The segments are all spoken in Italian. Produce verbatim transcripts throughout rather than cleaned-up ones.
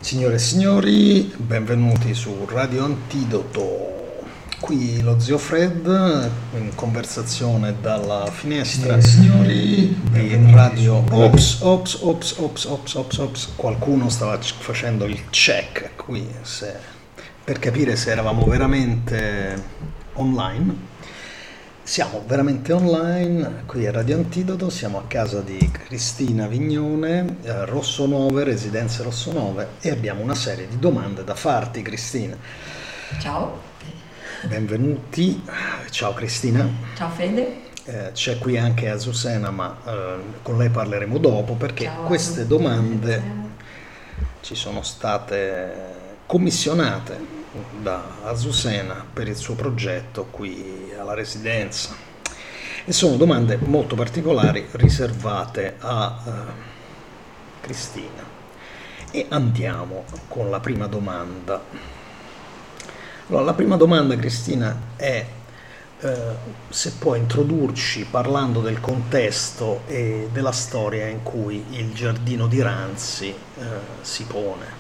Signore e signori, benvenuti su Radio Antidoto. Qui lo zio Fred in conversazione dalla finestra Signori, di Radio. Ops, ops, ops, ops, ops, ops, ops. Qualcuno stava c- facendo il check qui se- per capire se eravamo veramente online. Siamo veramente online, qui a Radio Antidoto, siamo a casa di Cristina Vignone, eh, Rossonove, Residenze Rossonove, e abbiamo una serie di domande da farti, Cristina. Ciao, Benvenuti, ciao Cristina. ciao Fede. Eh, c'è qui anche Azucena, ma eh, con lei parleremo dopo perché Ciao a queste tutti. domande ci sono state commissionate da Azucena per il suo progetto qui alla residenza e sono domande molto particolari riservate a eh, Cristina. E andiamo con la prima domanda. Allora, la prima domanda, Cristina, è eh, se puoi introdurci parlando del contesto e della storia in cui il giardino di Ranzi eh, si pone.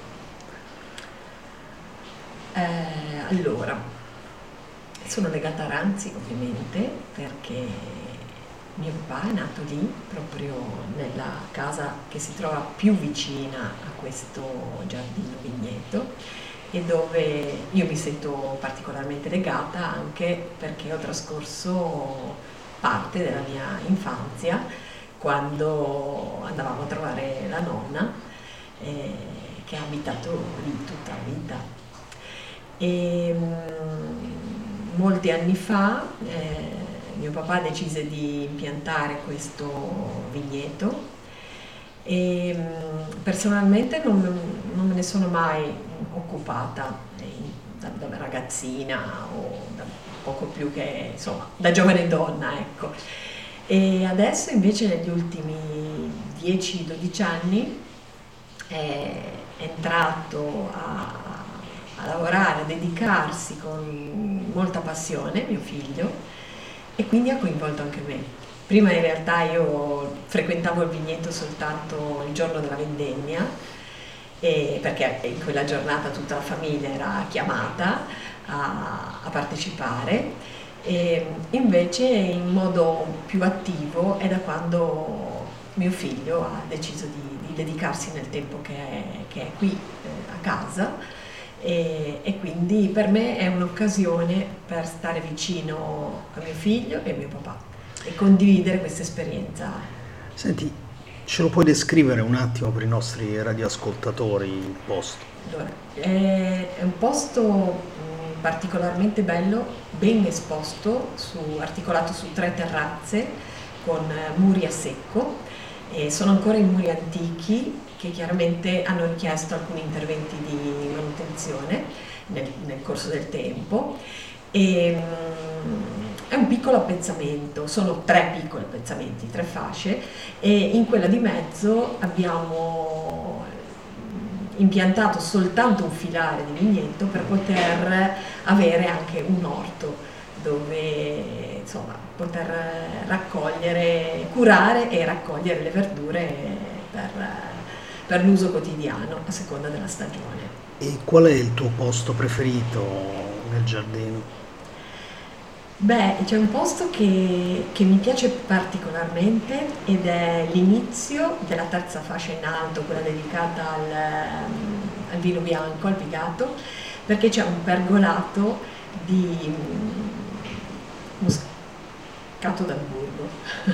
Eh, allora, sono legata a Ranzi ovviamente perché mio papà è nato lì, proprio nella casa che si trova più vicina a questo giardino vigneto e dove io mi sento particolarmente legata anche perché ho trascorso parte della mia infanzia quando andavamo a trovare la nonna eh, che ha abitato lì tutta la vita. E mm, molti anni fa eh, mio papà decise di impiantare questo vigneto e mm, personalmente non, non me ne sono mai occupata eh, da, da ragazzina o da poco più che insomma da giovane donna, ecco. E adesso invece negli ultimi dieci dodici anni è entrato a a lavorare, a dedicarsi con molta passione, mio figlio, e quindi ha coinvolto anche me. Prima in realtà io frequentavo il vigneto soltanto il giorno della vendemmia, e perché in quella giornata tutta la famiglia era chiamata a, a partecipare, e invece in modo più attivo è da quando mio figlio ha deciso di, di dedicarsi nel tempo che è, che è qui eh, a casa. E, e quindi per me è un'occasione per stare vicino a mio figlio e a mio papà e condividere questa esperienza. Senti, ce lo puoi descrivere un attimo per i nostri radioascoltatori il posto? Allora, è, è un posto mh, particolarmente bello, ben esposto, su, articolato su tre terrazze con eh, muri a secco. E sono ancora i muri antichi che chiaramente hanno richiesto alcuni interventi di manutenzione nel, nel corso del tempo e mm, è un piccolo appezzamento, sono tre piccoli appezzamenti, tre fasce, e in quella di mezzo abbiamo impiantato soltanto un filare di vigneto per poter avere anche un orto dove insomma poter raccogliere, curare e raccogliere le verdure per, per l'uso quotidiano a seconda della stagione. E qual è il tuo posto preferito nel giardino? Beh, c'è un posto che, che mi piace particolarmente ed è l'inizio della terza fascia in alto, quella dedicata al, al vino bianco, al pigato, perché c'è un pergolato di Moscato d'Amburgo.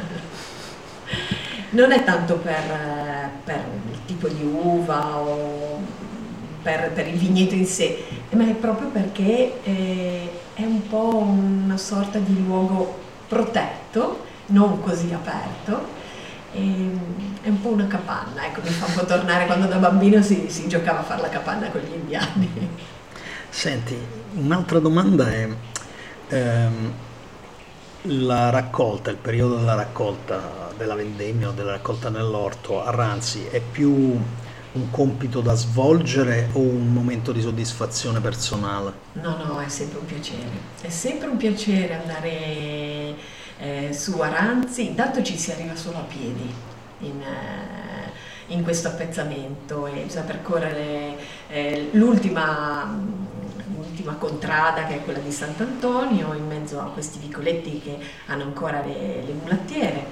Non è tanto per, per il tipo di uva o per, per il vigneto in sé, ma è proprio perché eh, è un po' una sorta di luogo protetto, non così aperto, e, è un po' una capanna, ecco, mi fa un po' tornare quando da bambino si, si giocava a fare la capanna con gli indiani. Senti, un'altra domanda è ehm, la raccolta, il periodo della raccolta della vendemmia o della raccolta nell'orto a Ranzi è più un compito da svolgere o un momento di soddisfazione personale? No, no, è sempre un piacere, è sempre un piacere andare eh, su a Ranzi. Intanto ci si arriva solo a piedi in, eh, in questo appezzamento e bisogna percorrere eh, l'ultima, l'ultima contrada, che è quella di Sant'Antonio, in mezzo a questi vicoletti che hanno ancora le, le mulattiere,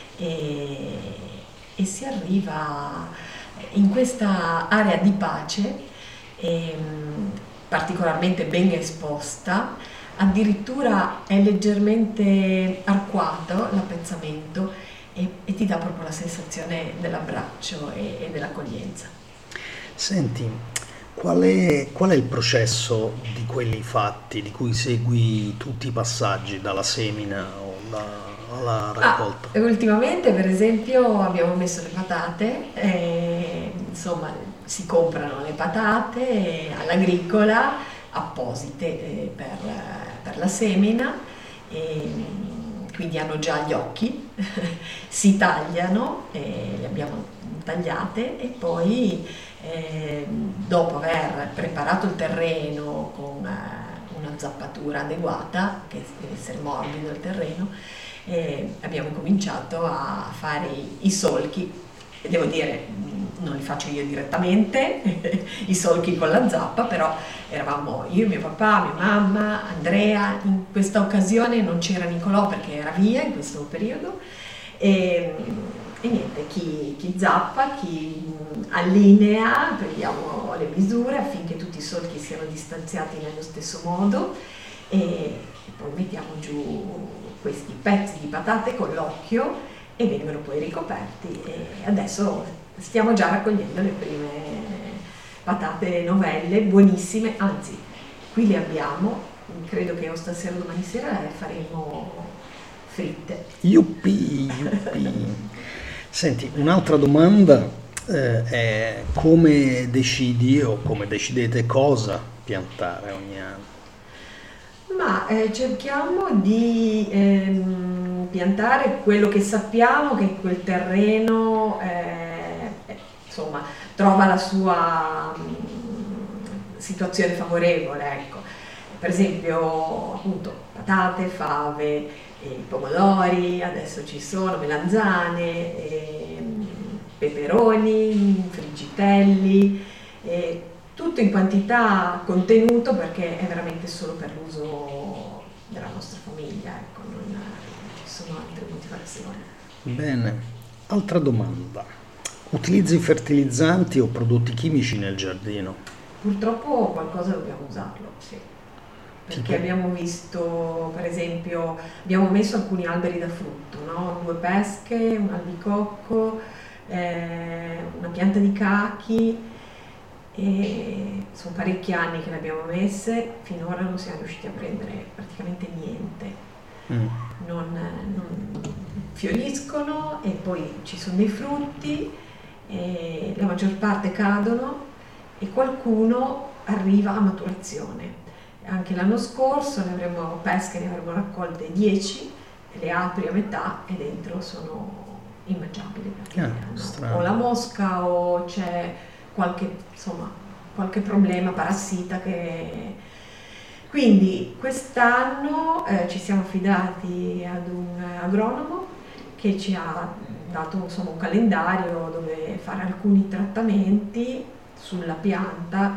e, e si arriva in questa area di pace ehm, particolarmente ben esposta. Addirittura è leggermente arcuato l'appezzamento e, e ti dà proprio la sensazione dell'abbraccio e, e dell'accoglienza. Senti, qual è, qual è il processo di quelli fatti, di cui segui tutti i passaggi, dalla semina o da- alla raccolta? Ah, ultimamente per esempio abbiamo messo le patate, e, insomma si comprano le patate all'agricola apposite eh, per, per la semina, e, quindi hanno già gli occhi, si tagliano, e le abbiamo tagliate e poi eh, dopo aver preparato il terreno con eh, una zappatura adeguata, che deve essere morbido il terreno, eh, abbiamo cominciato a fare i, i solchi. E devo dire, non li faccio io direttamente, i solchi con la zappa, però eravamo io, mio papà, mia mamma, Andrea. In questa occasione non c'era Nicolò perché era via in questo periodo, e, e niente, chi, chi zappa, chi allinea, prendiamo le misure affinché tutti i solchi siano distanziati nello stesso modo, e, e poi mettiamo giù questi pezzi di patate con l'occhio e vengono poi ricoperti, e adesso stiamo già raccogliendo le prime patate novelle, buonissime, anzi qui le abbiamo, credo che o stasera o domani sera le faremo fritte. Yuppi, yuppi. Senti, un'altra domanda eh, è come decidi o come decidete cosa piantare ogni anno? Ma eh, cerchiamo di ehm, piantare quello che sappiamo che quel terreno eh, eh, insomma, trova la sua mm, situazione favorevole, ecco. Per esempio, appunto, patate, fave, eh, pomodori, adesso ci sono melanzane, ehm, peperoni, friggitelli, eh, tutto in quantità contenuto, perché è veramente solo per l'uso della nostra famiglia, ecco, non, non ci sono altre motivazioni. Bene, altra domanda. Utilizzi fertilizzanti o prodotti chimici nel giardino? Purtroppo qualcosa dobbiamo usarlo, sì. Perché Tipo? abbiamo visto, per esempio, abbiamo messo alcuni alberi da frutto, no? Due pesche, un albicocco, eh, una pianta di cachi, e sono parecchi anni che le abbiamo messe, finora non siamo riusciti a prendere praticamente niente. Mm. Non, non fioriscono e poi ci sono dei frutti e la maggior parte cadono e qualcuno arriva a maturazione. Anche l'anno scorso ne avremmo pesche, ne avremmo raccolte dieci, le apri a metà e dentro sono immangiabili perché Ah, hanno strano. o la mosca o c'è qualche, insomma, qualche problema parassita che... Quindi quest'anno eh, ci siamo affidati ad un agronomo che ci ha dato, insomma, un calendario dove fare alcuni trattamenti sulla pianta,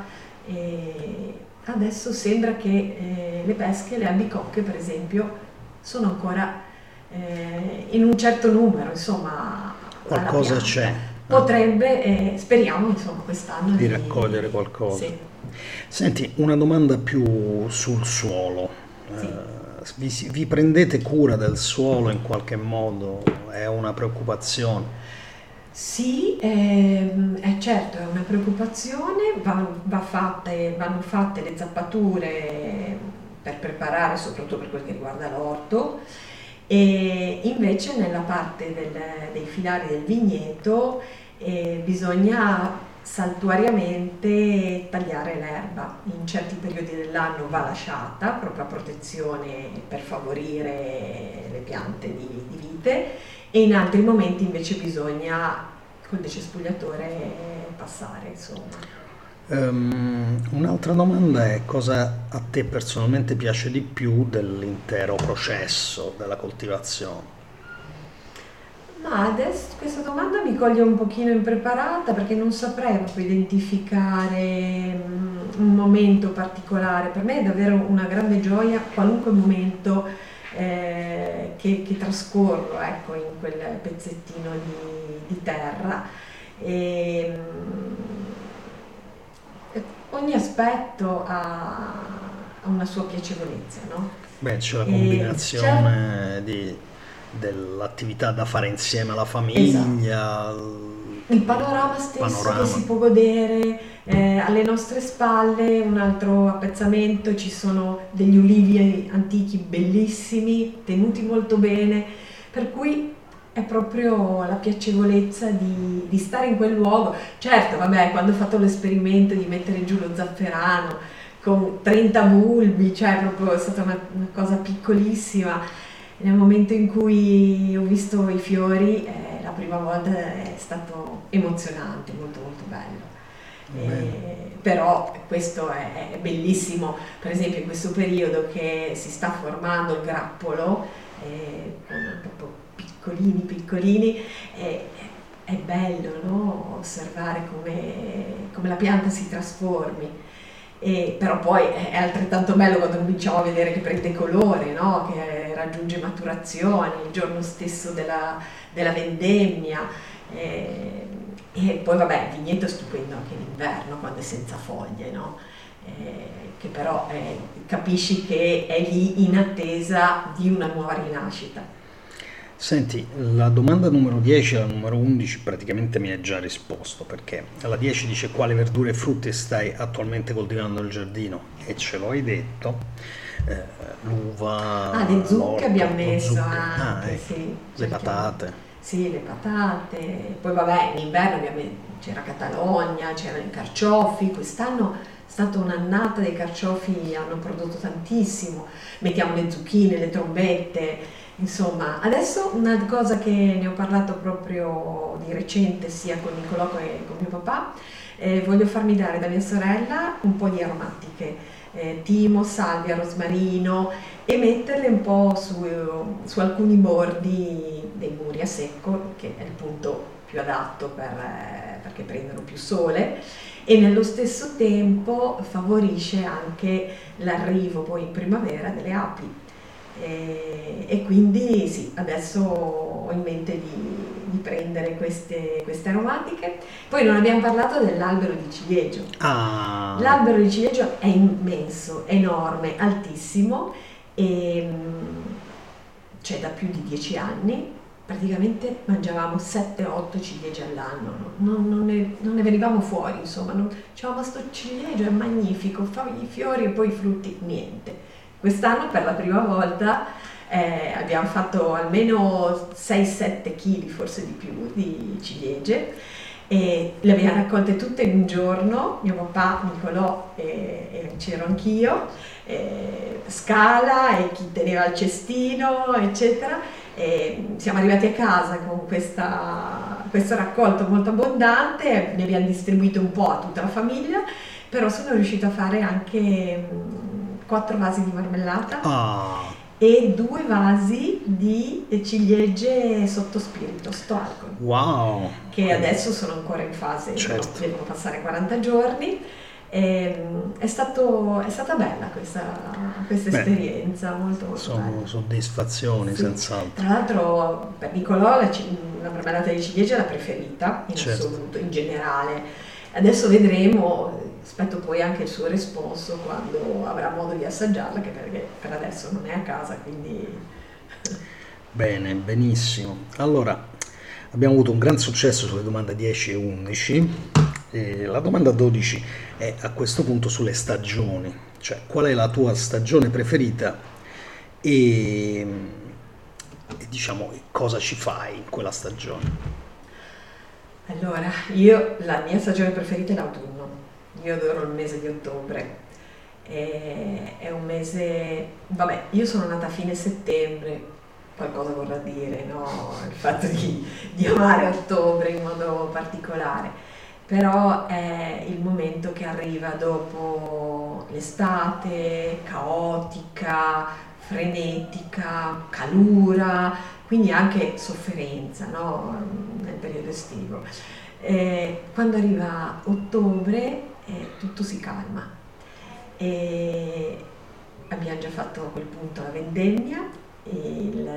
e adesso sembra che eh, le pesche, le albicocche per esempio, sono ancora eh, in un certo numero, insomma, alla Qualcosa pianta. c'è. Potrebbe, eh, speriamo insomma quest'anno Di raccogliere qualcosa. Sì. Senti, una domanda più sul suolo. Sì. Eh, vi, si- vi prendete cura del suolo in qualche modo? È una preoccupazione? Sì, ehm, è certo, è una preoccupazione, va, va fatte, vanno fatte le zappature per preparare, soprattutto per quel che riguarda l'orto, e invece nella parte del- dei filari del vigneto eh, bisogna saltuariamente tagliare l'erba. In certi periodi dell'anno va lasciata proprio a protezione per favorire le piante di, di vite, e in altri momenti invece bisogna col decespugliatore passare, insomma. Ehm, un'altra domanda è cosa a te personalmente piace di più dell'intero processo della coltivazione? Ma adesso questa domanda mi coglie un pochino impreparata perché non saprei proprio identificare mm, un momento particolare. Per me è davvero una grande gioia qualunque momento eh, che, che trascorro, ecco, in quel pezzettino di, di terra. E, mm, ogni aspetto ha, ha una sua piacevolezza, no? Beh, c'è la E c'è, combinazione di- dell'attività da fare insieme alla esatto. famiglia, Il il panorama stesso che panorama. si può godere, eh, alle nostre spalle un altro appezzamento, ci sono degli ulivi antichi bellissimi, tenuti molto bene, per cui è proprio la piacevolezza di, di stare in quel luogo. Certo, vabbè, quando ho fatto l'esperimento di mettere giù lo zafferano con trenta bulbi, cioè proprio è stata una, una cosa piccolissima. Nel momento in cui ho visto i fiori, eh, la prima volta è stato emozionante, molto molto bello. Bene. Eh, però questo è, è bellissimo, per esempio in questo periodo che si sta formando il grappolo, eh, con proprio piccolini piccolini, eh, è bello, no? Osservare come, come la pianta si trasformi. E, però poi è altrettanto bello quando cominciamo a vedere che prende colore, no? Che raggiunge maturazione il giorno stesso della, della vendemmia. E, e poi vabbè, il vigneto è stupendo anche d'inverno quando è senza foglie, no? Eh, che però eh, capisci che è lì in attesa di una nuova rinascita. Senti, la domanda numero dieci e la numero undici praticamente mi hai già risposto, perché alla dieci dice quali verdure e frutti stai attualmente coltivando nel giardino e ce lo hai detto, eh, Ah, l'uva, le zucche l'orto, abbiamo lo messo zucchero, ah anche, ecco, sì, le cerchiamo. patate. Sì, le patate, poi vabbè, in inverno ovviamente c'era Catalogna, c'erano i carciofi, quest'anno è stata un'annata dei carciofi, hanno prodotto tantissimo, mettiamo le zucchine, le trombette, insomma. Adesso una cosa che ne ho parlato proprio di recente sia con Nicolò che con mio papà, eh, voglio farmi dare da mia sorella un po' di aromatiche, eh, timo, salvia, rosmarino e metterle un po' su, su alcuni bordi dei muri a secco, che è il punto più adatto per, eh, perché prendono più sole e nello stesso tempo favorisce anche l'arrivo poi in primavera delle api. E, e quindi sì, adesso ho in mente di, di prendere queste, queste aromatiche. Poi non abbiamo parlato dell'albero di ciliegio. Ah, L'albero di ciliegio è immenso, enorme, altissimo e mm, c'è da più di dieci anni. Praticamente mangiavamo sette otto ciliegie all'anno, no? non, non ne, non ne venivamo fuori, insomma, non, dicevamo sto ciliegio è magnifico, fa i fiori e poi i frutti, niente. Quest'anno per la prima volta eh, abbiamo fatto almeno sei sette kg, forse di più, di ciliegie e le abbiamo raccolte tutte in un giorno, mio papà, Nicolò e, e c'ero anch'io, eh, Scala e chi teneva il cestino, eccetera. E siamo arrivati a casa con questa, questo raccolto molto abbondante, ne abbiamo distribuito un po' a tutta la famiglia, però sono riuscita a fare anche mm, quattro vasi di marmellata ah, e due vasi di ciliegie sotto spirito, sto alcol, wow, che quindi, adesso sono ancora in fase, no, certo. devono passare quaranta giorni. E, mm, è stato, è stata bella questa, questa Beh, esperienza, molto molto sono bella. soddisfazioni Sì, senz'altro, tra l'altro per Nicolò la, ci- la marmellata di ciliegia è la preferita in certo. assoluto, in generale. Adesso vedremo, aspetto poi anche il suo responso quando avrà modo di assaggiarla, che perché per adesso non è a casa, quindi Bene, benissimo. Allora, abbiamo avuto un gran successo sulle domande dieci e undici. E la domanda dodici è a questo punto sulle stagioni, cioè qual è la tua stagione preferita e, e diciamo cosa ci fai in quella stagione. allora, io la mia stagione preferita è l'autunno, io adoro il mese di ottobre. È, è un mese, vabbè, io sono nata a fine settembre, qualcosa vorrà dire, no? Il fatto di, di amare ottobre in modo particolare, però è il momento che arriva dopo l'estate caotica, frenetica, calura, quindi anche sofferenza, no? Nel periodo estivo. Eh, quando arriva ottobre eh, tutto si calma e abbiamo già fatto a quel punto la vendemmia, il,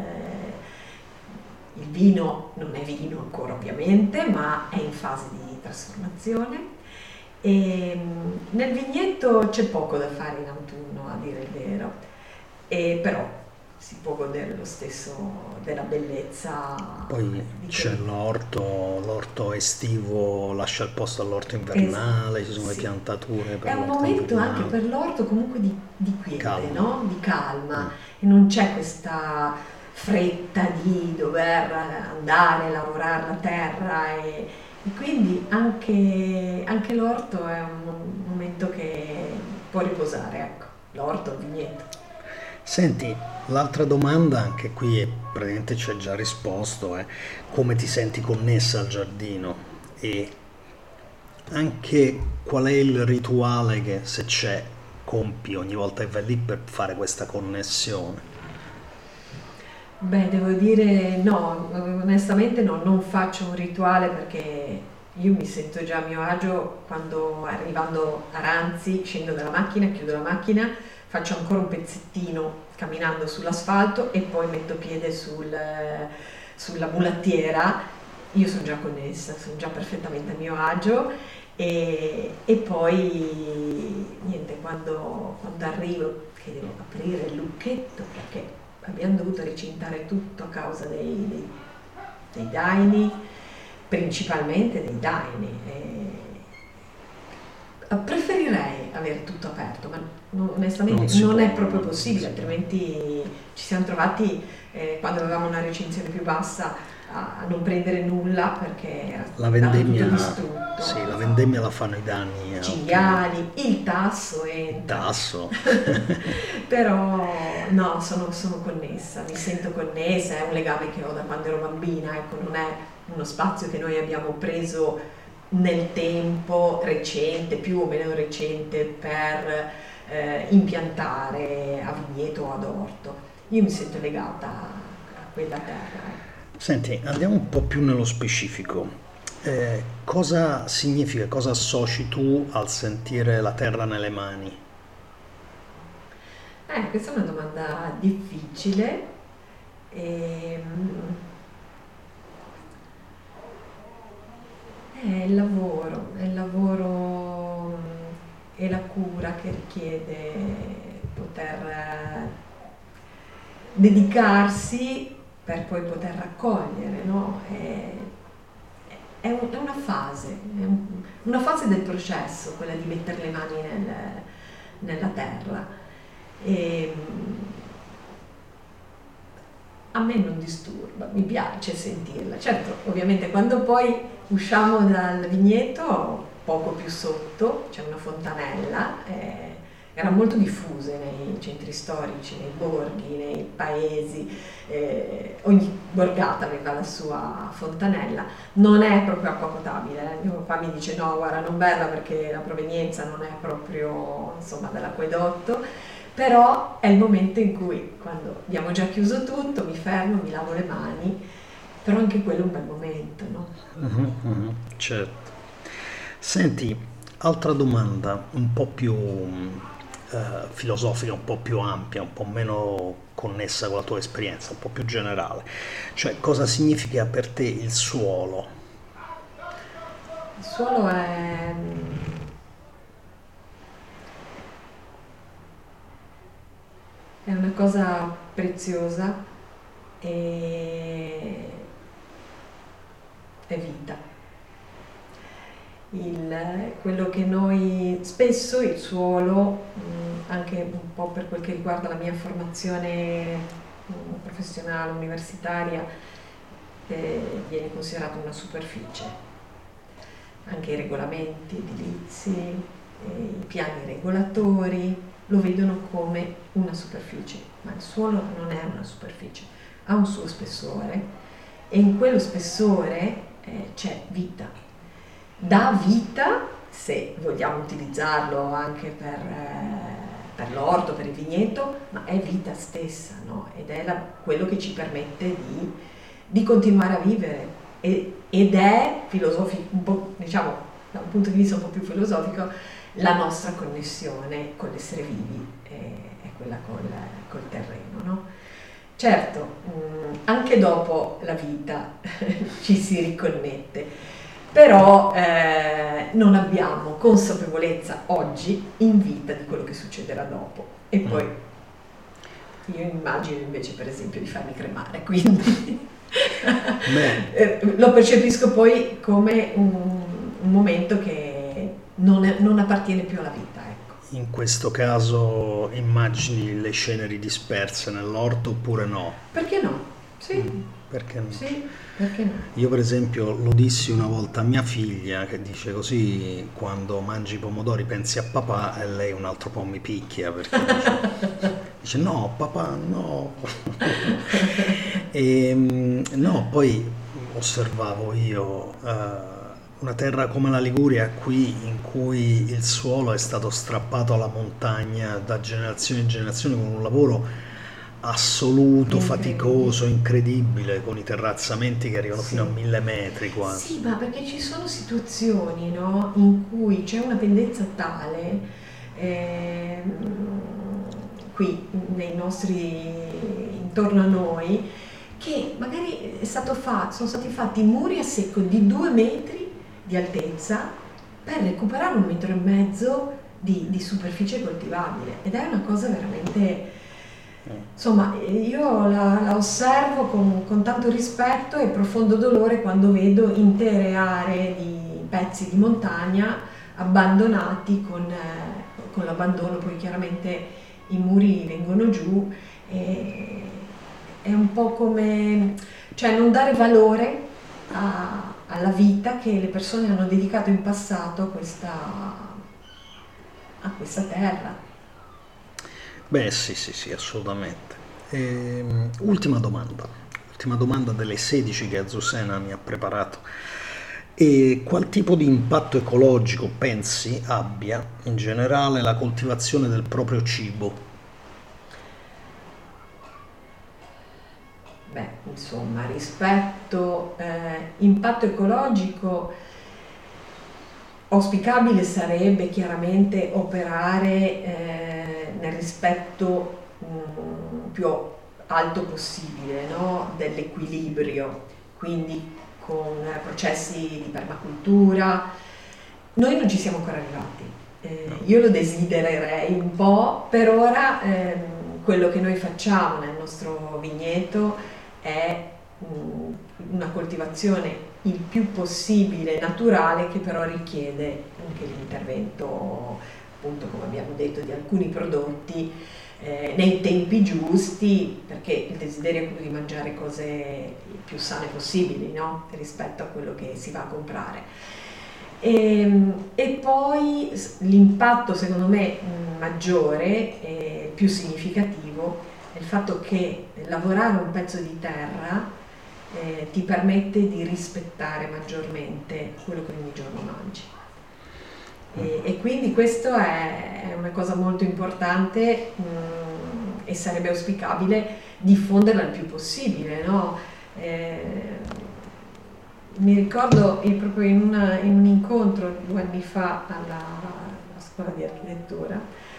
il vino non è vino ancora ovviamente, ma è in fase di trasformazione. E nel vigneto c'è poco da fare in autunno, a dire il vero, e però si può godere lo stesso della bellezza. Poi di c'è quel- l'orto, l'orto estivo lascia il posto all'orto invernale, ci sono le Sì. piantature È per un l'orto momento anche invernale. per l'orto comunque di, di quiete, Calma. no? Di calma, Mm. e non c'è questa fretta di dover andare a lavorare la terra e, e quindi anche, anche l'orto è un momento che può riposare, ecco, l'orto, il vigneto. Senti, l'altra domanda, anche qui è- praticamente ci hai già risposto, è come ti senti connessa al giardino e anche qual è il rituale che se c'è compi ogni volta che vai lì per fare questa connessione. Beh, devo dire no, onestamente no, non faccio un rituale perché io mi sento già a mio agio quando arrivando a Ranzi scendo dalla macchina, chiudo la macchina, faccio ancora un pezzettino camminando sull'asfalto e poi metto piede sul- sulla mulattiera. Io sono già connessa, sono già perfettamente a mio agio e, e poi niente, quando, quando arrivo che devo aprire il lucchetto perché abbiamo dovuto recintare tutto a causa dei, dei, dei daini, principalmente dei daini. E preferirei avere tutto aperto, ma no- Non onestamente si non può, è proprio non possibile, si può. altrimenti ci siamo trovati eh, quando avevamo una recinzione più bassa a, a non prendere nulla perché era La stato tutto vendemmia, distrutto. sì, la vendemmia Esatto. la fanno i danni a ottobre. Cinghiali, il tasso Il entra. tasso. Però no, sono, sono connessa, mi sento connessa, è un legame che ho da quando ero bambina, ecco, non è uno spazio che noi abbiamo preso nel tempo recente, più o meno recente, per eh, impiantare a vigneto o ad orto. Io mi sento legata a quella terra. Ecco. Senti, andiamo un po' più nello specifico. Eh, cosa significa, cosa associ tu al sentire la terra nelle mani? Eh, questa è una domanda difficile. Ehm, È il lavoro, è il lavoro mm, e la cura che richiede poter eh, dedicarsi per poi poter raccogliere, no? È, è un- è una fase, è un- una fase del processo, quella di mettere le mani nel- nella terra. E, mm, a me non disturba, mi piace sentirla. Certo, ovviamente quando poi usciamo dal vigneto, poco più sotto, c'è una fontanella, eh, erano molto diffuse nei centri storici, nei borghi, nei paesi, eh, ogni borgata aveva la sua fontanella. Non è proprio acqua potabile, eh. Mio papà mi dice no, guarda, non berla perché la provenienza non è proprio, insomma, dall'acquedotto, però è il momento in cui, quando abbiamo già chiuso tutto, mi fermo, mi lavo le mani, però anche quello è un bel momento, no? Mhm, mhm, certo. Senti, altra domanda un po' più eh, filosofica, un po' più ampia, un po' meno connessa con la tua esperienza, un po' più generale. Cioè, cosa significa per te il suolo? Il suolo è, è una cosa preziosa e è vita. Il- quello che noi spesso il suolo, mh, anche un po' per quel che riguarda la mia formazione mh, professionale, universitaria, eh, viene considerato una superficie. Anche i regolamenti edilizi, eh, i piani regolatori lo vedono come una superficie, ma il suolo non è una superficie, ha un suo spessore e in quello spessore eh, c'è vita. Dà vita, se vogliamo utilizzarlo anche per, eh, per per l'orto, per il vigneto, ma è vita stessa, no? Ed è la- quello che ci permette di, di continuare a vivere. E- ed è filosofico, un po', diciamo, da un punto di vista un po' più filosofico, la nostra connessione con l'essere vivi, è, è quella col, col terreno, no? Certo, mh, anche dopo la vita ci si riconnette, però eh, non abbiamo consapevolezza oggi in vita di quello che succederà dopo. E poi io immagino invece per esempio di farmi cremare, quindi eh, lo percepisco poi come un, un momento che non, è- non appartiene più alla vita, ecco. In questo caso immagini le ceneri disperse nell'orto oppure no? Perché no? Sì, Perché no? sì, perché no? Io per esempio lo dissi una volta a mia figlia che dice così quando mangi i pomodori pensi a papà e lei un altro po' mi picchia perché dice, dice no papà no. E, mm, no, poi osservavo io eh, una terra come la Liguria qui in cui il suolo è stato strappato alla montagna da generazione in generazione con un lavoro assoluto, Incredibile. faticoso, incredibile, con i terrazzamenti che arrivano fino a Sì. mille metri quasi. Sì, ma perché ci sono situazioni, no, in cui c'è una pendenza tale, ehm, qui nei nostri, intorno a noi, che magari è stato fatto, sono stati fatti muri a secco di due metri di altezza per recuperare un metro e mezzo di, di superficie coltivabile. Ed è una cosa veramente, insomma, io la, la osservo con, con tanto rispetto e profondo dolore quando vedo intere aree di pezzi di montagna abbandonati con, eh, con l'abbandono, poi chiaramente i muri vengono giù e è un po' come, cioè non dare valore a- alla vita che le persone hanno dedicato in passato a questa, a questa terra. Beh, sì, sì, sì, assolutamente. Ehm, ultima domanda, ultima domanda delle sedici che Azucena mi ha preparato. E qual tipo di impatto ecologico pensi abbia in generale la coltivazione del proprio cibo? Beh, insomma, rispetto eh, impatto ecologico, auspicabile sarebbe chiaramente operare eh, nel rispetto mm, più alto possibile, no? Dell'equilibrio, quindi con eh, processi di permacultura. Noi non ci siamo ancora arrivati. Eh, io lo desidererei un po', per ora ehm, quello che noi facciamo nel nostro vigneto è mh, una coltivazione il più possibile naturale, che però richiede anche l'intervento, appunto come abbiamo detto, di alcuni prodotti eh, nei tempi giusti, perché il desiderio è quello di mangiare cose il più sane possibili, no? Rispetto a quello che si va a comprare. E, e poi s- l'impatto secondo me mh, maggiore e più significativo è il fatto che lavorare un pezzo di terra eh, ti permette di rispettare maggiormente quello che ogni giorno mangi. E, e quindi questo è, è una cosa molto importante, mh, e sarebbe auspicabile diffonderla il più possibile, no? Eh, mi ricordo eh, proprio in, una- in un incontro due anni fa alla, alla scuola di architettura,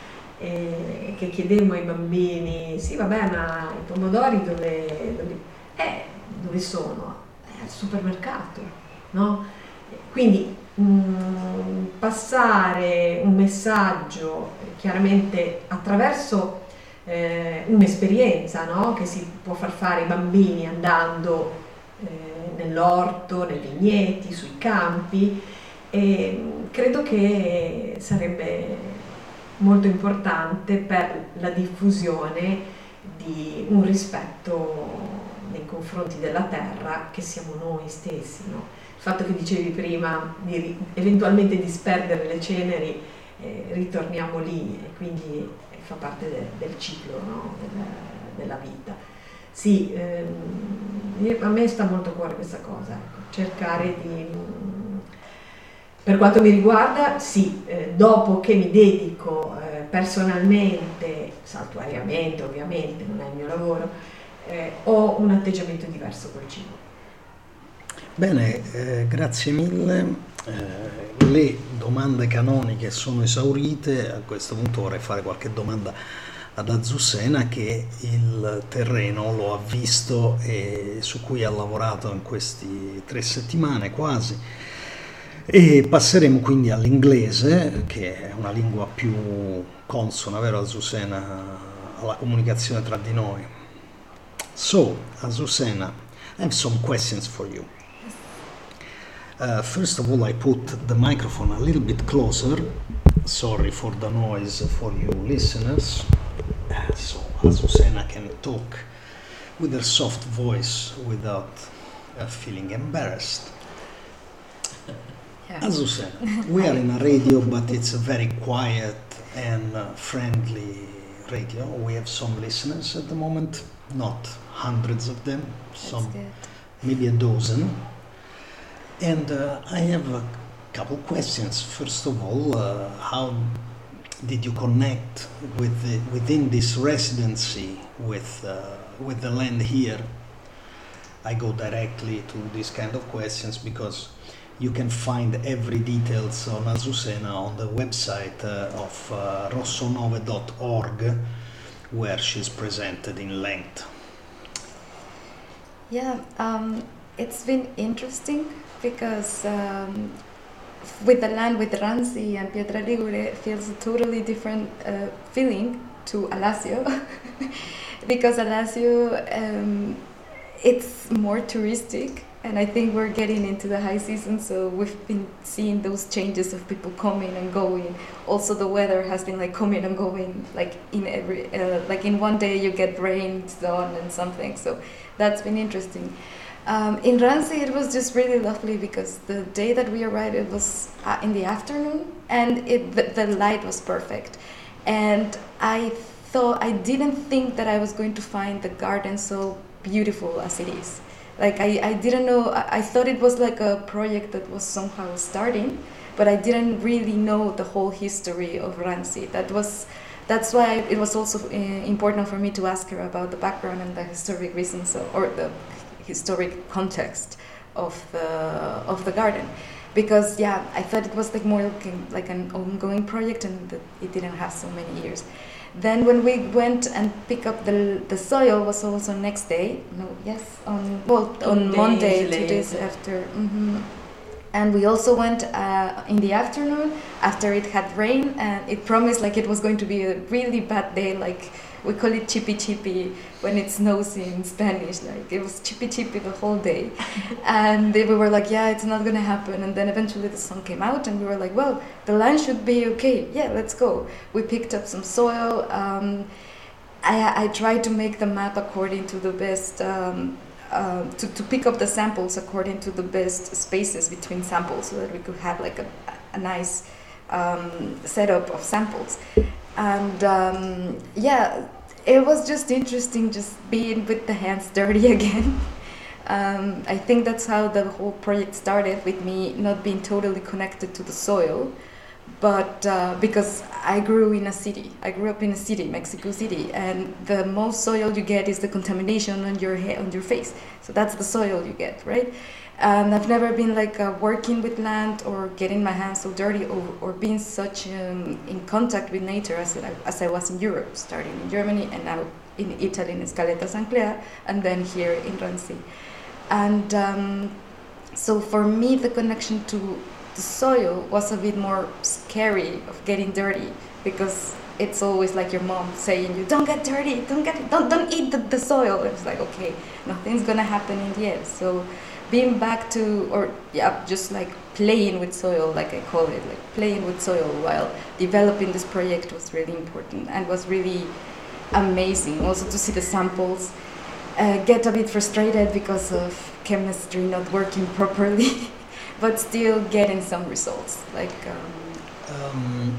eh, che chiedemmo ai bambini, sì vabbè, ma i pomodori dove, dove, eh, dove sono? Eh, al supermercato, no? Quindi mh, passare un messaggio eh, chiaramente attraverso eh, un'esperienza, no? Che si può far fare ai bambini andando eh, nell'orto, nei vigneti, sui campi, e mh, credo che sarebbe molto importante per la diffusione di un rispetto nei confronti della terra che siamo noi stessi, no? Il fatto che dicevi prima di ri- eventualmente disperdere le ceneri, eh, ritorniamo lì e quindi eh, fa parte de- del ciclo, no? Del- della vita. Sì, ehm, io- a me sta molto a cuore questa cosa, ecco, cercare di, mm, per quanto mi riguarda, sì, eh, dopo che mi dedico eh, personalmente, saltuariamente ovviamente, non è il mio lavoro, eh, ho un atteggiamento diverso col cibo. Bene, eh, grazie mille. Eh, le domande canoniche sono esaurite. A questo punto vorrei fare qualche domanda ad Azucena, che il terreno lo ha visto e su cui ha lavorato in queste tre settimane quasi. E passeremo quindi all'inglese, che è una lingua più consona, vero Azucena, alla comunicazione tra di noi. So, Azucena, I have some questions for you. Uh, first of all, I put the microphone a little bit closer. Sorry for the noise for you listeners. Uh, so Azucena can talk with her soft voice without uh, feeling embarrassed. Yeah. Azucena, we are in a radio, but it's a very quiet and uh, friendly radio. We have some listeners at the moment, not hundreds of them, some That's good. maybe a dozen. And uh, I have a couple questions. First of all, uh, how did you connect with the, within this residency with uh, with the land here? I go directly to these kind of questions because you can find every details on Azucena on the website uh, of uh, rosso nove dot org, where she's presented in length. Yeah, um, it's been interesting because um, with the land with Ranzi and Pietra Ligure, it feels a totally different uh, feeling to Alassio because Alassio um, it's more touristic, and I think we're getting into the high season, so we've been seeing those changes of people coming and going. Also, the weather has been like coming and going, like in every uh, like in one day you get rain, sun, and something. So that's been interesting. Um, in Ranzi, it was just really lovely because the day that we arrived, it was uh, in the afternoon, and it the, the light was perfect. And I thought I didn't think that I was going to find the garden so beautiful as it is. Like I, I didn't know. I, I thought it was like a project that was somehow starting, but I didn't really know the whole history of Ranzi. That was. That's why it was also uh, important for me to ask her about the background and the historic reasons of, or the historic context of the of the garden, because yeah, I thought it was like more looking like an ongoing project and that it didn't have so many years. Then when we went and pick up the the soil was also next day. No, yes, on well on Two Monday, days two days later. after. Mm-hmm. And we also went uh, in the afternoon after it had rained, and it promised like it was going to be a really bad day. Like we call it chippy chippy when it snows in Spanish. Like it was chippy chippy the whole day, and they, we were like, yeah, it's not gonna happen. And then eventually the sun came out, and we were like, well, the land should be okay. Yeah, let's go. We picked up some soil. Um, I, I tried to make the map according to the best. Um, Uh, to, to pick up the samples according to the best spaces between samples so that we could have like a, a nice um, setup of samples. And um, yeah, it was just interesting just being with the hands dirty again. um, I think that's how the whole project started, with me not being totally connected to the soil. But uh, because I grew in a city, I grew up in a city, Mexico City, and the most soil you get is the contamination on your head, on your face. So that's the soil you get, right? And I've never been like uh, working with land or getting my hands so dirty, or, or being such um, in contact with nature as I, as I was in Europe, starting in Germany and now in Italy in Scaletta San Clea, and then here in Ranzi. And um, so for me, the connection to the soil was a bit more scary of getting dirty, because it's always like your mom saying you don't get dirty, don't get don't don't eat the, the soil. It's like, okay, nothing's gonna happen in the end. So being back to, or yeah, just like playing with soil, like I call it, like playing with soil while developing this project was really important and was really amazing. Also to see the samples, uh, get a bit frustrated because of chemistry not working properly. But still getting some results. Like, um, Um,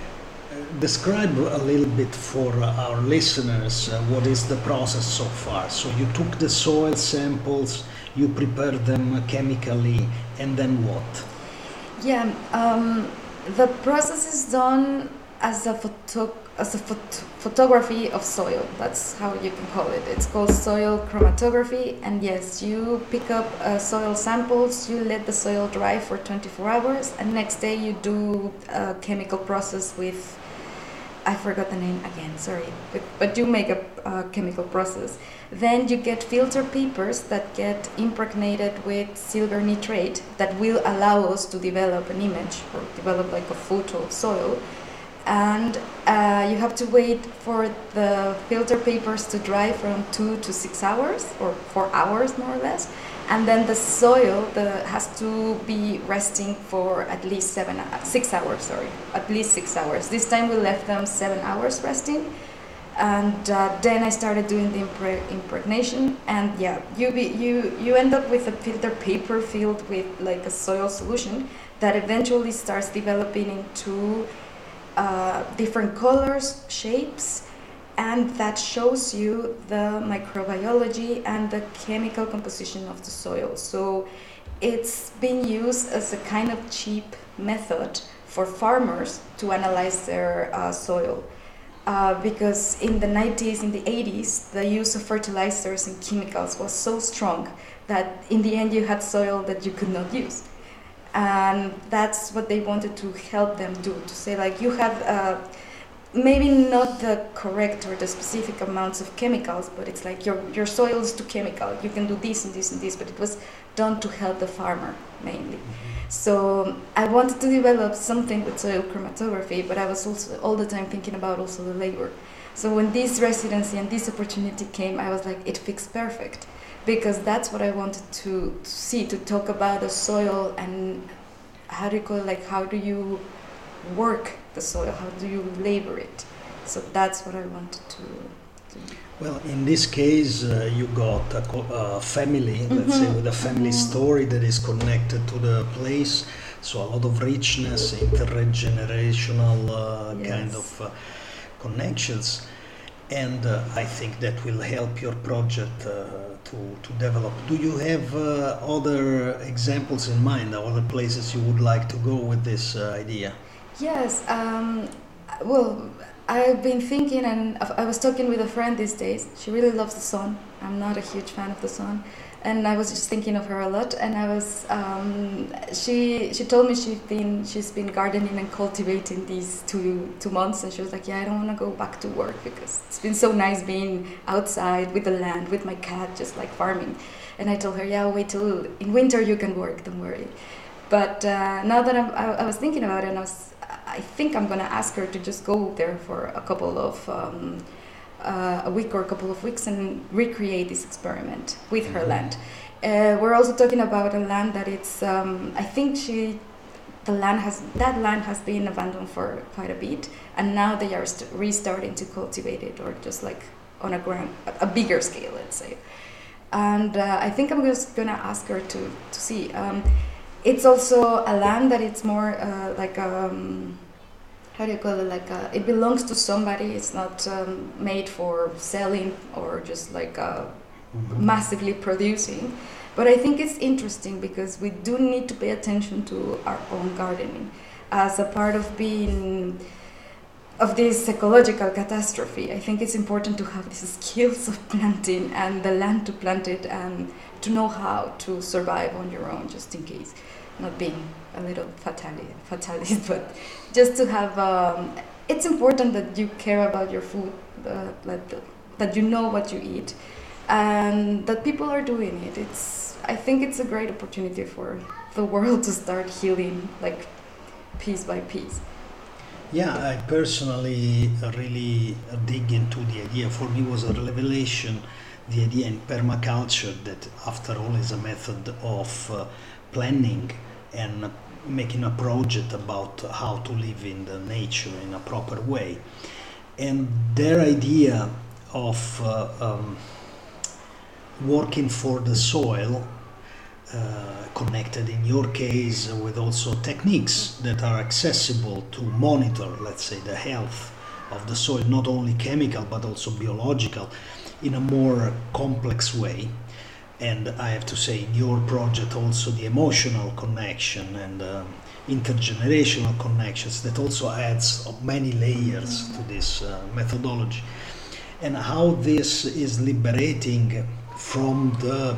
describe a little bit for our listeners uh, what is the process so far. So you took the soil samples, you prepared them chemically, and then what? yeah, um, the process is done as a photo as a phot- photography of soil. That's how you can call it. It's called soil chromatography. And yes, you pick up uh, soil samples, you let the soil dry for twenty-four hours, and next day you do a chemical process with, I forgot the name again, sorry, but, but you make a, a chemical process. Then you get filter papers that get impregnated with silver nitrate that will allow us to develop an image or develop like a photo of soil. And uh, you have to wait for the filter papers to dry from two to six hours or four hours more or less. And then the soil the, has to be resting for at least seven, six hours, sorry, at least six hours. This time we left them seven hours resting. And uh, then I started doing the impre- impregnation, and yeah, you, be, you you end up with a filter paper filled with like a soil solution that eventually starts developing into uh, different colors, shapes, and that shows you the microbiology and the chemical composition of the soil. So it's being used as a kind of cheap method for farmers to analyze their uh, soil. Uh, because in the nineties, in the eighties, the use of fertilizers and chemicals was so strong that in the end you had soil that you could not use. And that's what they wanted to help them do, to say like you have uh, maybe not the correct or the specific amounts of chemicals, but it's like your, your soil is too chemical, you can do this and this and this, but it was done to help the farmer mainly. So I wanted to develop something with soil chromatography, but I was also all the time thinking about also the labor. So when this residency and this opportunity came, I was like, it fits perfect, because that's what I wanted to, to see, to talk about the soil and how do you call it, like how do you work the soil, how do you labor it. So that's what I wanted to do. Well, in this case, uh, you got a, co- a family, mm-hmm. let's say, with a family mm-hmm. story that is connected to the place. So a lot of richness, intergenerational uh, yes. kind of uh, connections. And uh, I think that will help your project uh, to, to develop. Do you have uh, other examples in mind, other places you would like to go with this uh, idea? Yes. Um, well, I've been thinking, and I was talking with a friend these days. She really loves the sun. I'm not a huge fan of the sun, and I was just thinking of her a lot. And I was, um, she she told me she's been she's been gardening and cultivating these two two months, and she was like, yeah, I don't want to go back to work because it's been so nice being outside with the land, with my cat, just like farming. And I told her, yeah, wait till in winter you can work, don't worry. But uh, now that I'm, I, I was thinking about it, and I was. I think I'm gonna ask her to just go there for a couple of um, uh, a week or a couple of weeks and recreate this experiment with her land. Uh, we're also talking about a land that it's. Um, I think she, the land has that land has been abandoned for quite a bit, and now they are st- restarting to cultivate it, or just like on a grand, a bigger scale, let's say. And uh, I think I'm just gonna ask her to to see. Um, It's also a land that it's more uh, like um, how do you call it? Like a, it belongs to somebody. It's not um, made for selling or just like uh, mm-hmm. massively producing. But I think it's interesting because we do need to pay attention to our own gardening as a part of being of this ecological catastrophe. I think it's important to have these skills of planting and the land to plant it and to know how to survive on your own, just in case. Not being a little fatalist, fatalist but just to have. Um, it's important that you care about your food, uh, that that you know what you eat, and that people are doing it. It's. I think it's a great opportunity for the world to start healing, like piece by piece. Yeah, I personally really dig into the idea. For me, it was a revelation. The idea in permaculture that, after all, is a method of uh, planning and making a project about how to live in the nature in a proper way. And their idea of uh, um, working for the soil, uh, connected in your case with also techniques that are accessible to monitor, let's say, the health of the soil, not only chemical but also biological, in a more complex way. And I have to say, in your project also the emotional connection and uh, intergenerational connections, that also adds many layers to this uh, methodology. And how this is liberating from the,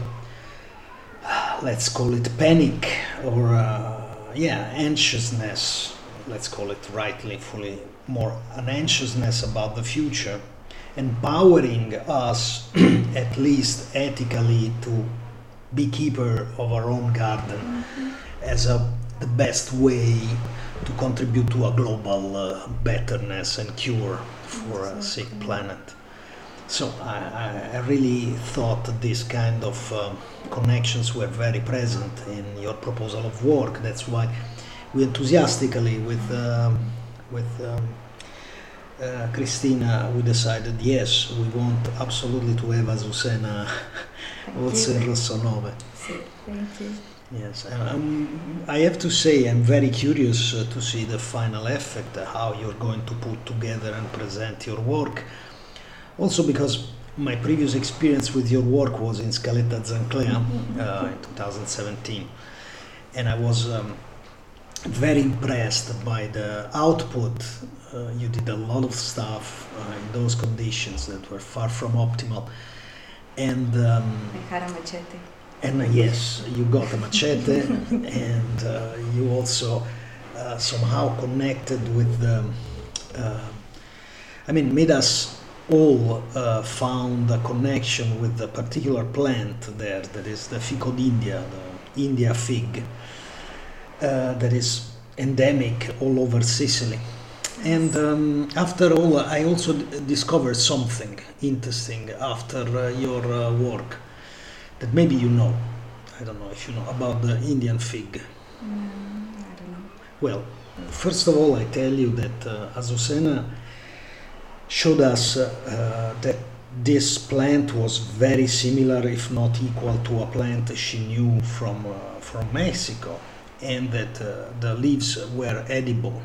let's call it panic or uh, yeah, anxiousness, let's call it rightly, fully more an anxiousness about the future, empowering us at least ethically to be keeper of our own garden mm-hmm. as a, the best way to contribute to a global uh, betterness and cure for a sick planet. So I, I really thought that this kind of uh, connections were very present in your proposal of work. That's why we enthusiastically with um, with um, uh, Cristina we decided yes, we want absolutely to have Azucena also in Rosso nove. Thank you. Yes, and um, I have to say I'm very curious uh, to see the final effect, uh, how you're going to put together and present your work. Also because my previous experience with your work was in Scaletta Zanclea uh, in two thousand seventeen, and I was um, very impressed by the output. Uh, you did a lot of stuff uh, in those conditions that were far from optimal, and um, I had a machete. And uh, yes, you got a machete, and uh, you also uh, somehow connected with the, uh, I mean, made us all uh, found a connection with the particular plant there, that is the Fico d'India, the India fig, uh, that is endemic all over Sicily. And um, after all, I also d- discovered something interesting after uh, your uh, work that maybe you know. I don't know if you know about the Indian fig. Mm, I don't know. Well, first of all, I tell you that uh, Azucena showed us uh, uh, that this plant was very similar, if not equal, to a plant she knew from uh, from Mexico, and that uh, the leaves were edible.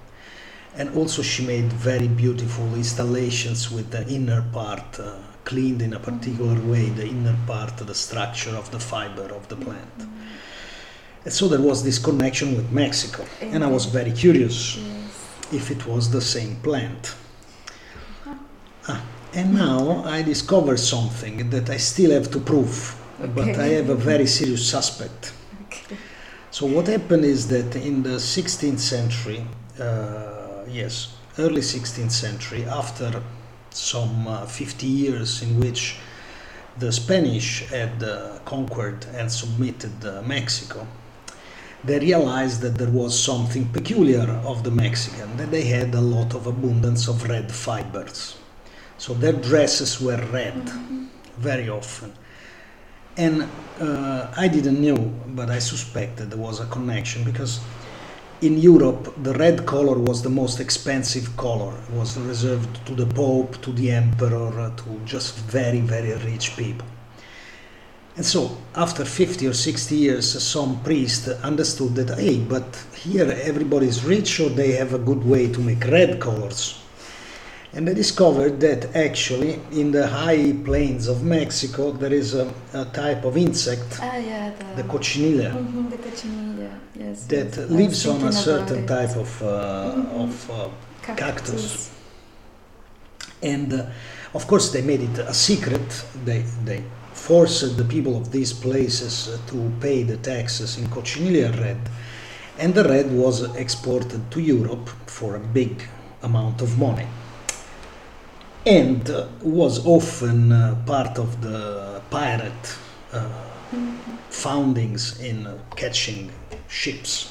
And also she made very beautiful installations with the inner part uh, cleaned in a particular way, the inner part, the structure of the fiber of the plant. Mm-hmm. And so there was this connection with Mexico, mm-hmm. and I was very curious yes. if it was the same plant. Ah, and now I discovered something that I still have to prove, okay. but I have a very serious suspect. Okay. So what happened is that in the sixteenth century, uh, yes, early sixteenth century, after some uh, fifty years in which the Spanish had uh, conquered and submitted uh, Mexico, they realized that there was something peculiar of the Mexican, that they had a lot of abundance of red fibers. So their dresses were red, mm-hmm. very often. And uh, I didn't know, but I suspected there was a connection, because in Europe the red color was the most expensive color. It was reserved to the Pope, to the Emperor, to just very, very rich people. And so after fifty or sixty years, some priest understood that, hey, but here everybody is rich, or they have a good way to make red colors. And they discovered that actually in the high plains of Mexico there is a, a type of insect, ah, yeah, the, the cochinilla, mm-hmm, the cochinilla, yes, that yes. lives on a certain type of, uh, mm-hmm. of uh, cactus. cactus. And uh, of course they made it a secret. They, they forced the people of these places uh, to pay the taxes in cochinilla red. And the red was exported to Europe for a big amount of money. And uh, was often uh, part of the pirate uh, mm-hmm. foundings in uh, catching ships.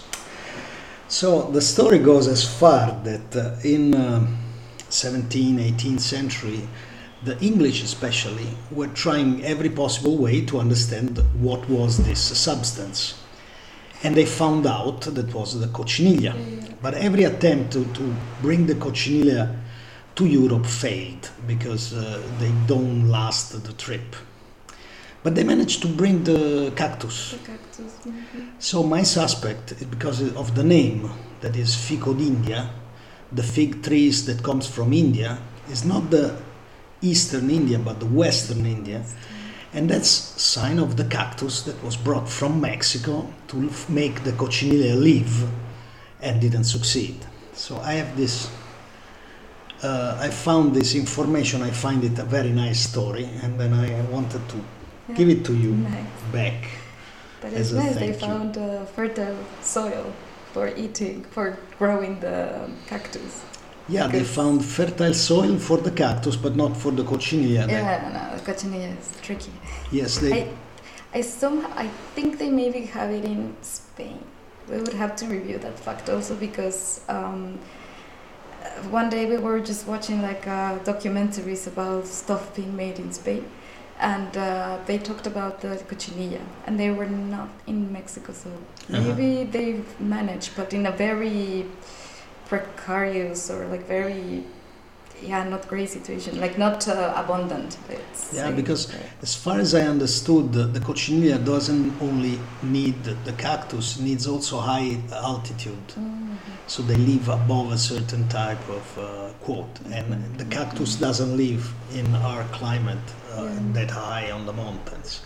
So the story goes as far that uh, in uh, seventeenth, eighteenth century, the English especially were trying every possible way to understand what was this substance. And they found out that was the cochinilla. Mm-hmm. But every attempt to, to bring the cochinilla to Europe failed, because uh, they don't last the trip. But they managed to bring the cactus. The cactus. Mm-hmm. So my suspect, because of the name, that is Fico d'India, the fig trees that comes from India, is not the eastern India but the western India. And that's sign of the cactus that was brought from Mexico to f- make the coccinilla live and didn't succeed. So I have this, uh, I found this information, I find it a very nice story, and then I wanted to Yeah. give it to you Nice. back. That As is a nice. They thank you. found uh, fertile soil for eating, for growing the cactus. Yeah, they Because- found fertile soil for the cactus, but not for the coccinilla. They- Yeah, no, the cochinilla is tricky. Yes, they. I, I somehow I think they maybe have it in Spain. We would have to review that fact also because um, uh, one day we were just watching like uh, documentaries about stuff being made in Spain, and uh, they talked about the cochinilla, and they were not in Mexico, so Uh-huh. maybe they've managed, but in a very precarious or like very yeah not great situation, like not uh, abundant. It's Yeah, like- because as far as I understood, the, the coccinilla doesn't only need the cactus, needs also high altitude. Mhm. So they live above a certain type of uh, quote, and the cactus doesn't live in our climate uh, Yeah. that high on the mountains.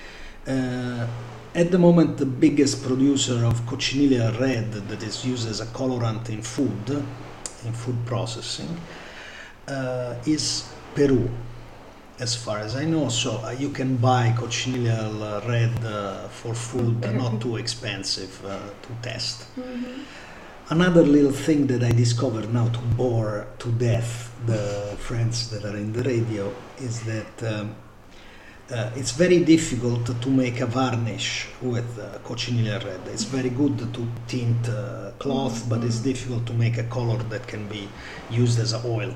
Uh, at the moment, the biggest producer of coccinilla red that is used as a colorant in food, in food processing, uh, is Peru, as far as I know. So uh, you can buy coccinilla red uh, for food, uh, not too expensive uh, to test. Mhm. Another little thing that I discovered now to bore to death the friends that are in the radio is that um, uh, it's very difficult to make a varnish with uh, coccinilla red. It's very good to tint uh, cloth, but it's difficult to make a color that can be used as a oil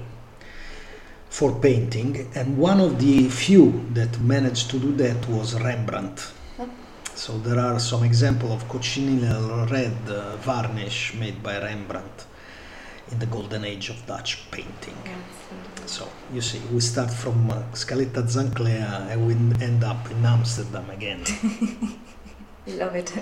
for painting. And one of the few that managed to do that was Rembrandt. Oh. So there are some examples of coccinilla red uh, varnish made by Rembrandt in the golden age of Dutch painting. That's, So you see, we start from uh, Scaletta Zanclea and we end up in Amsterdam again. uh, love it.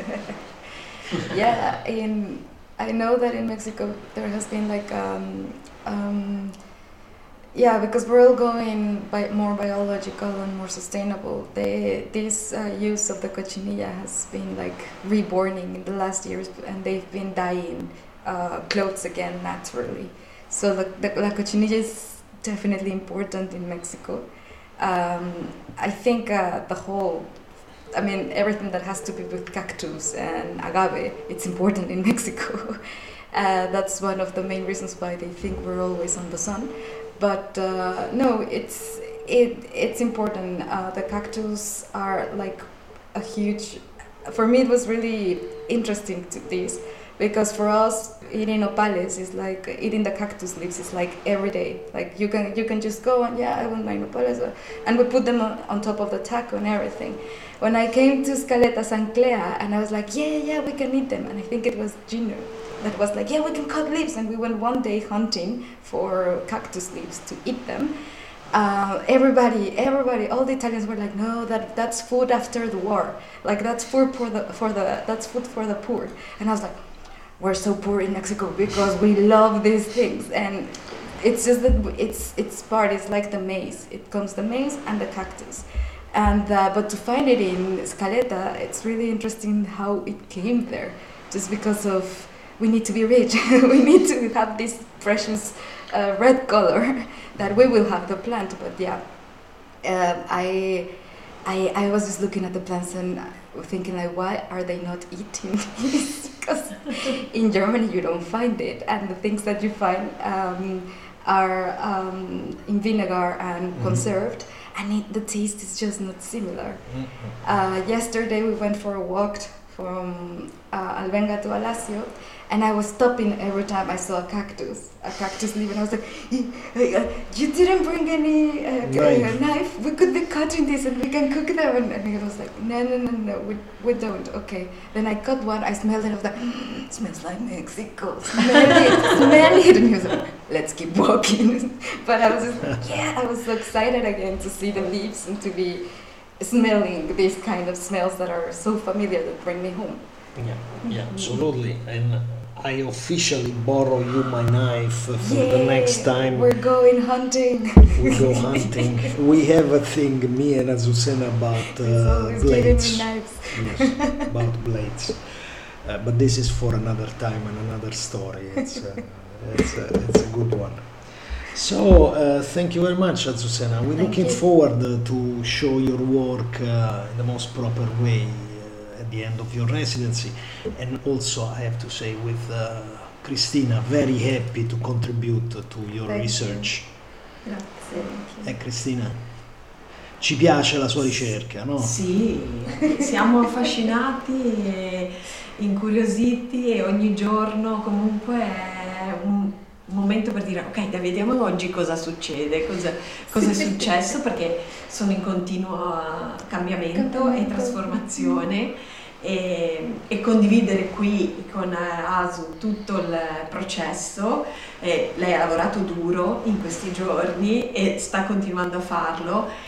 Yeah, in I know that in Mexico there has been like um, um, yeah, because we're all going by more biological and more sustainable. They, this uh, use of the cochinilla has been like reborning in the last years, and they've been dyeing uh, clothes again naturally. So the, the la cochinilla is definitely important in Mexico. Um, I think uh, the whole, I mean, everything that has to do with cactus and agave, it's important in Mexico. Uh, that's one of the main reasons why they think we're always on the sun. But uh, no, it's it it's important. Uh, the cactus are like a huge. For me, it was really interesting to this because for us, eating nopales is like eating the cactus leaves. It's like every day. Like you can you can just go and yeah, I want my nopales, and we put them on, on top of the taco and everything. When I came to Scaletta Zanclea, and I was like, yeah, yeah, we can eat them, and I think it was Gino that was like, yeah, we can cut leaves, and we went one day hunting for cactus leaves to eat them. Uh, everybody, everybody, all the Italians were like, no, that that's food after the war, like that's food for the for the that's food for the poor. And I was like, we're so poor in Mexico because we love these things, and it's just that it's it's part. It's like the maize. It comes the maize and the cactus. And uh, but to find it in Scaletta, it's really interesting how it came there, just because of we need to be rich. We need to have this precious uh, red color that we will have the plant. But yeah, um, I, I, I was just looking at the plants and thinking like, why are they not eating this? Because in Germany you don't find it, and the things that you find um, are um, in vinegar and Mhm. conserved, and it, the taste is just not similar. Mhm. Uh, yesterday we went for a walk from uh, Albenga to Alacio, and I was stopping every time I saw a cactus, a cactus leaf, and I was like, you didn't bring any uh, Knife. knife, we could be cutting this and we can cook them. And, and he was like, no, no, no, no, we, we don't, okay. Then I cut one, I smelled it, I was like, mm, it smells like Mexico, smell it, smell it. And he was like, let's keep walking. But I was just, yeah, I was so excited again to see the leaves and to be smelling these kind of smells that are so familiar that bring me home. Yeah, yeah, absolutely. And I officially borrow you my knife for Yay, the next time we're going hunting. we go hunting. We have a thing, me and Azucena, about He's uh, always blades. giving me knives. Yes, about blades. Uh, but this is for another time and another story. It's, uh, it's, uh, it's a good one. So, uh, thank you very much, Azucena. We're Thank looking you. forward uh, to show your work uh, in the most proper way uh, at the end of your residency. And also, I have to say, with uh, Cristina, very happy to contribute to your Thank research. Grazie. Thank you. Eh, Cristina? Ci piace la sua ricerca, no? Sì, siamo affascinati e incuriositi e ogni giorno comunque è un momento per dire ok, dai, vediamo oggi cosa succede, cosa, cosa è successo, perché sono in continuo cambiamento e Cambiamento. trasformazione e, e condividere qui con Asu tutto il processo. Eh, lei ha lavorato duro in questi giorni e sta continuando a farlo.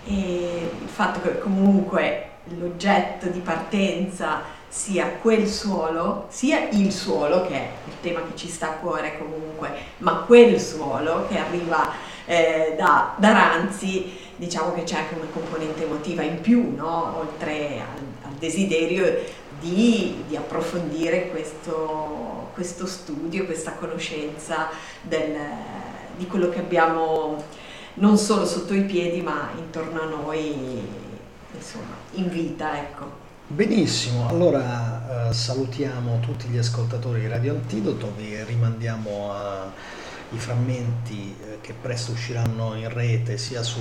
E il fatto che comunque l'oggetto di partenza sia quel suolo, sia il suolo, che è il tema che ci sta a cuore comunque, ma quel suolo che arriva eh, da, da Ranzi, diciamo che c'è anche una componente emotiva in più, no? Oltre al, al desiderio di, di approfondire questo, questo studio, questa conoscenza del, di quello che abbiamo non solo sotto i piedi ma intorno a noi, insomma, in vita, ecco. Benissimo, allora eh, salutiamo tutti gli ascoltatori di Radio Antidoto, vi rimandiamo ai frammenti eh, che presto usciranno in rete sia sul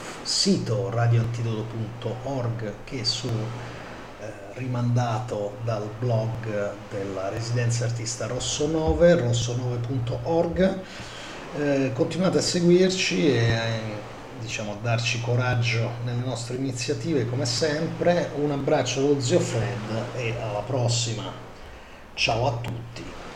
sito radio antidoto punto org che su eh, rimandato dal blog della residenza artista Rossonove, rossonove punto org. Eh, continuate a seguirci e eh, diciamo a darci coraggio nelle nostre iniziative come sempre. Un abbraccio dallo zio Fred e alla prossima. Ciao a tutti.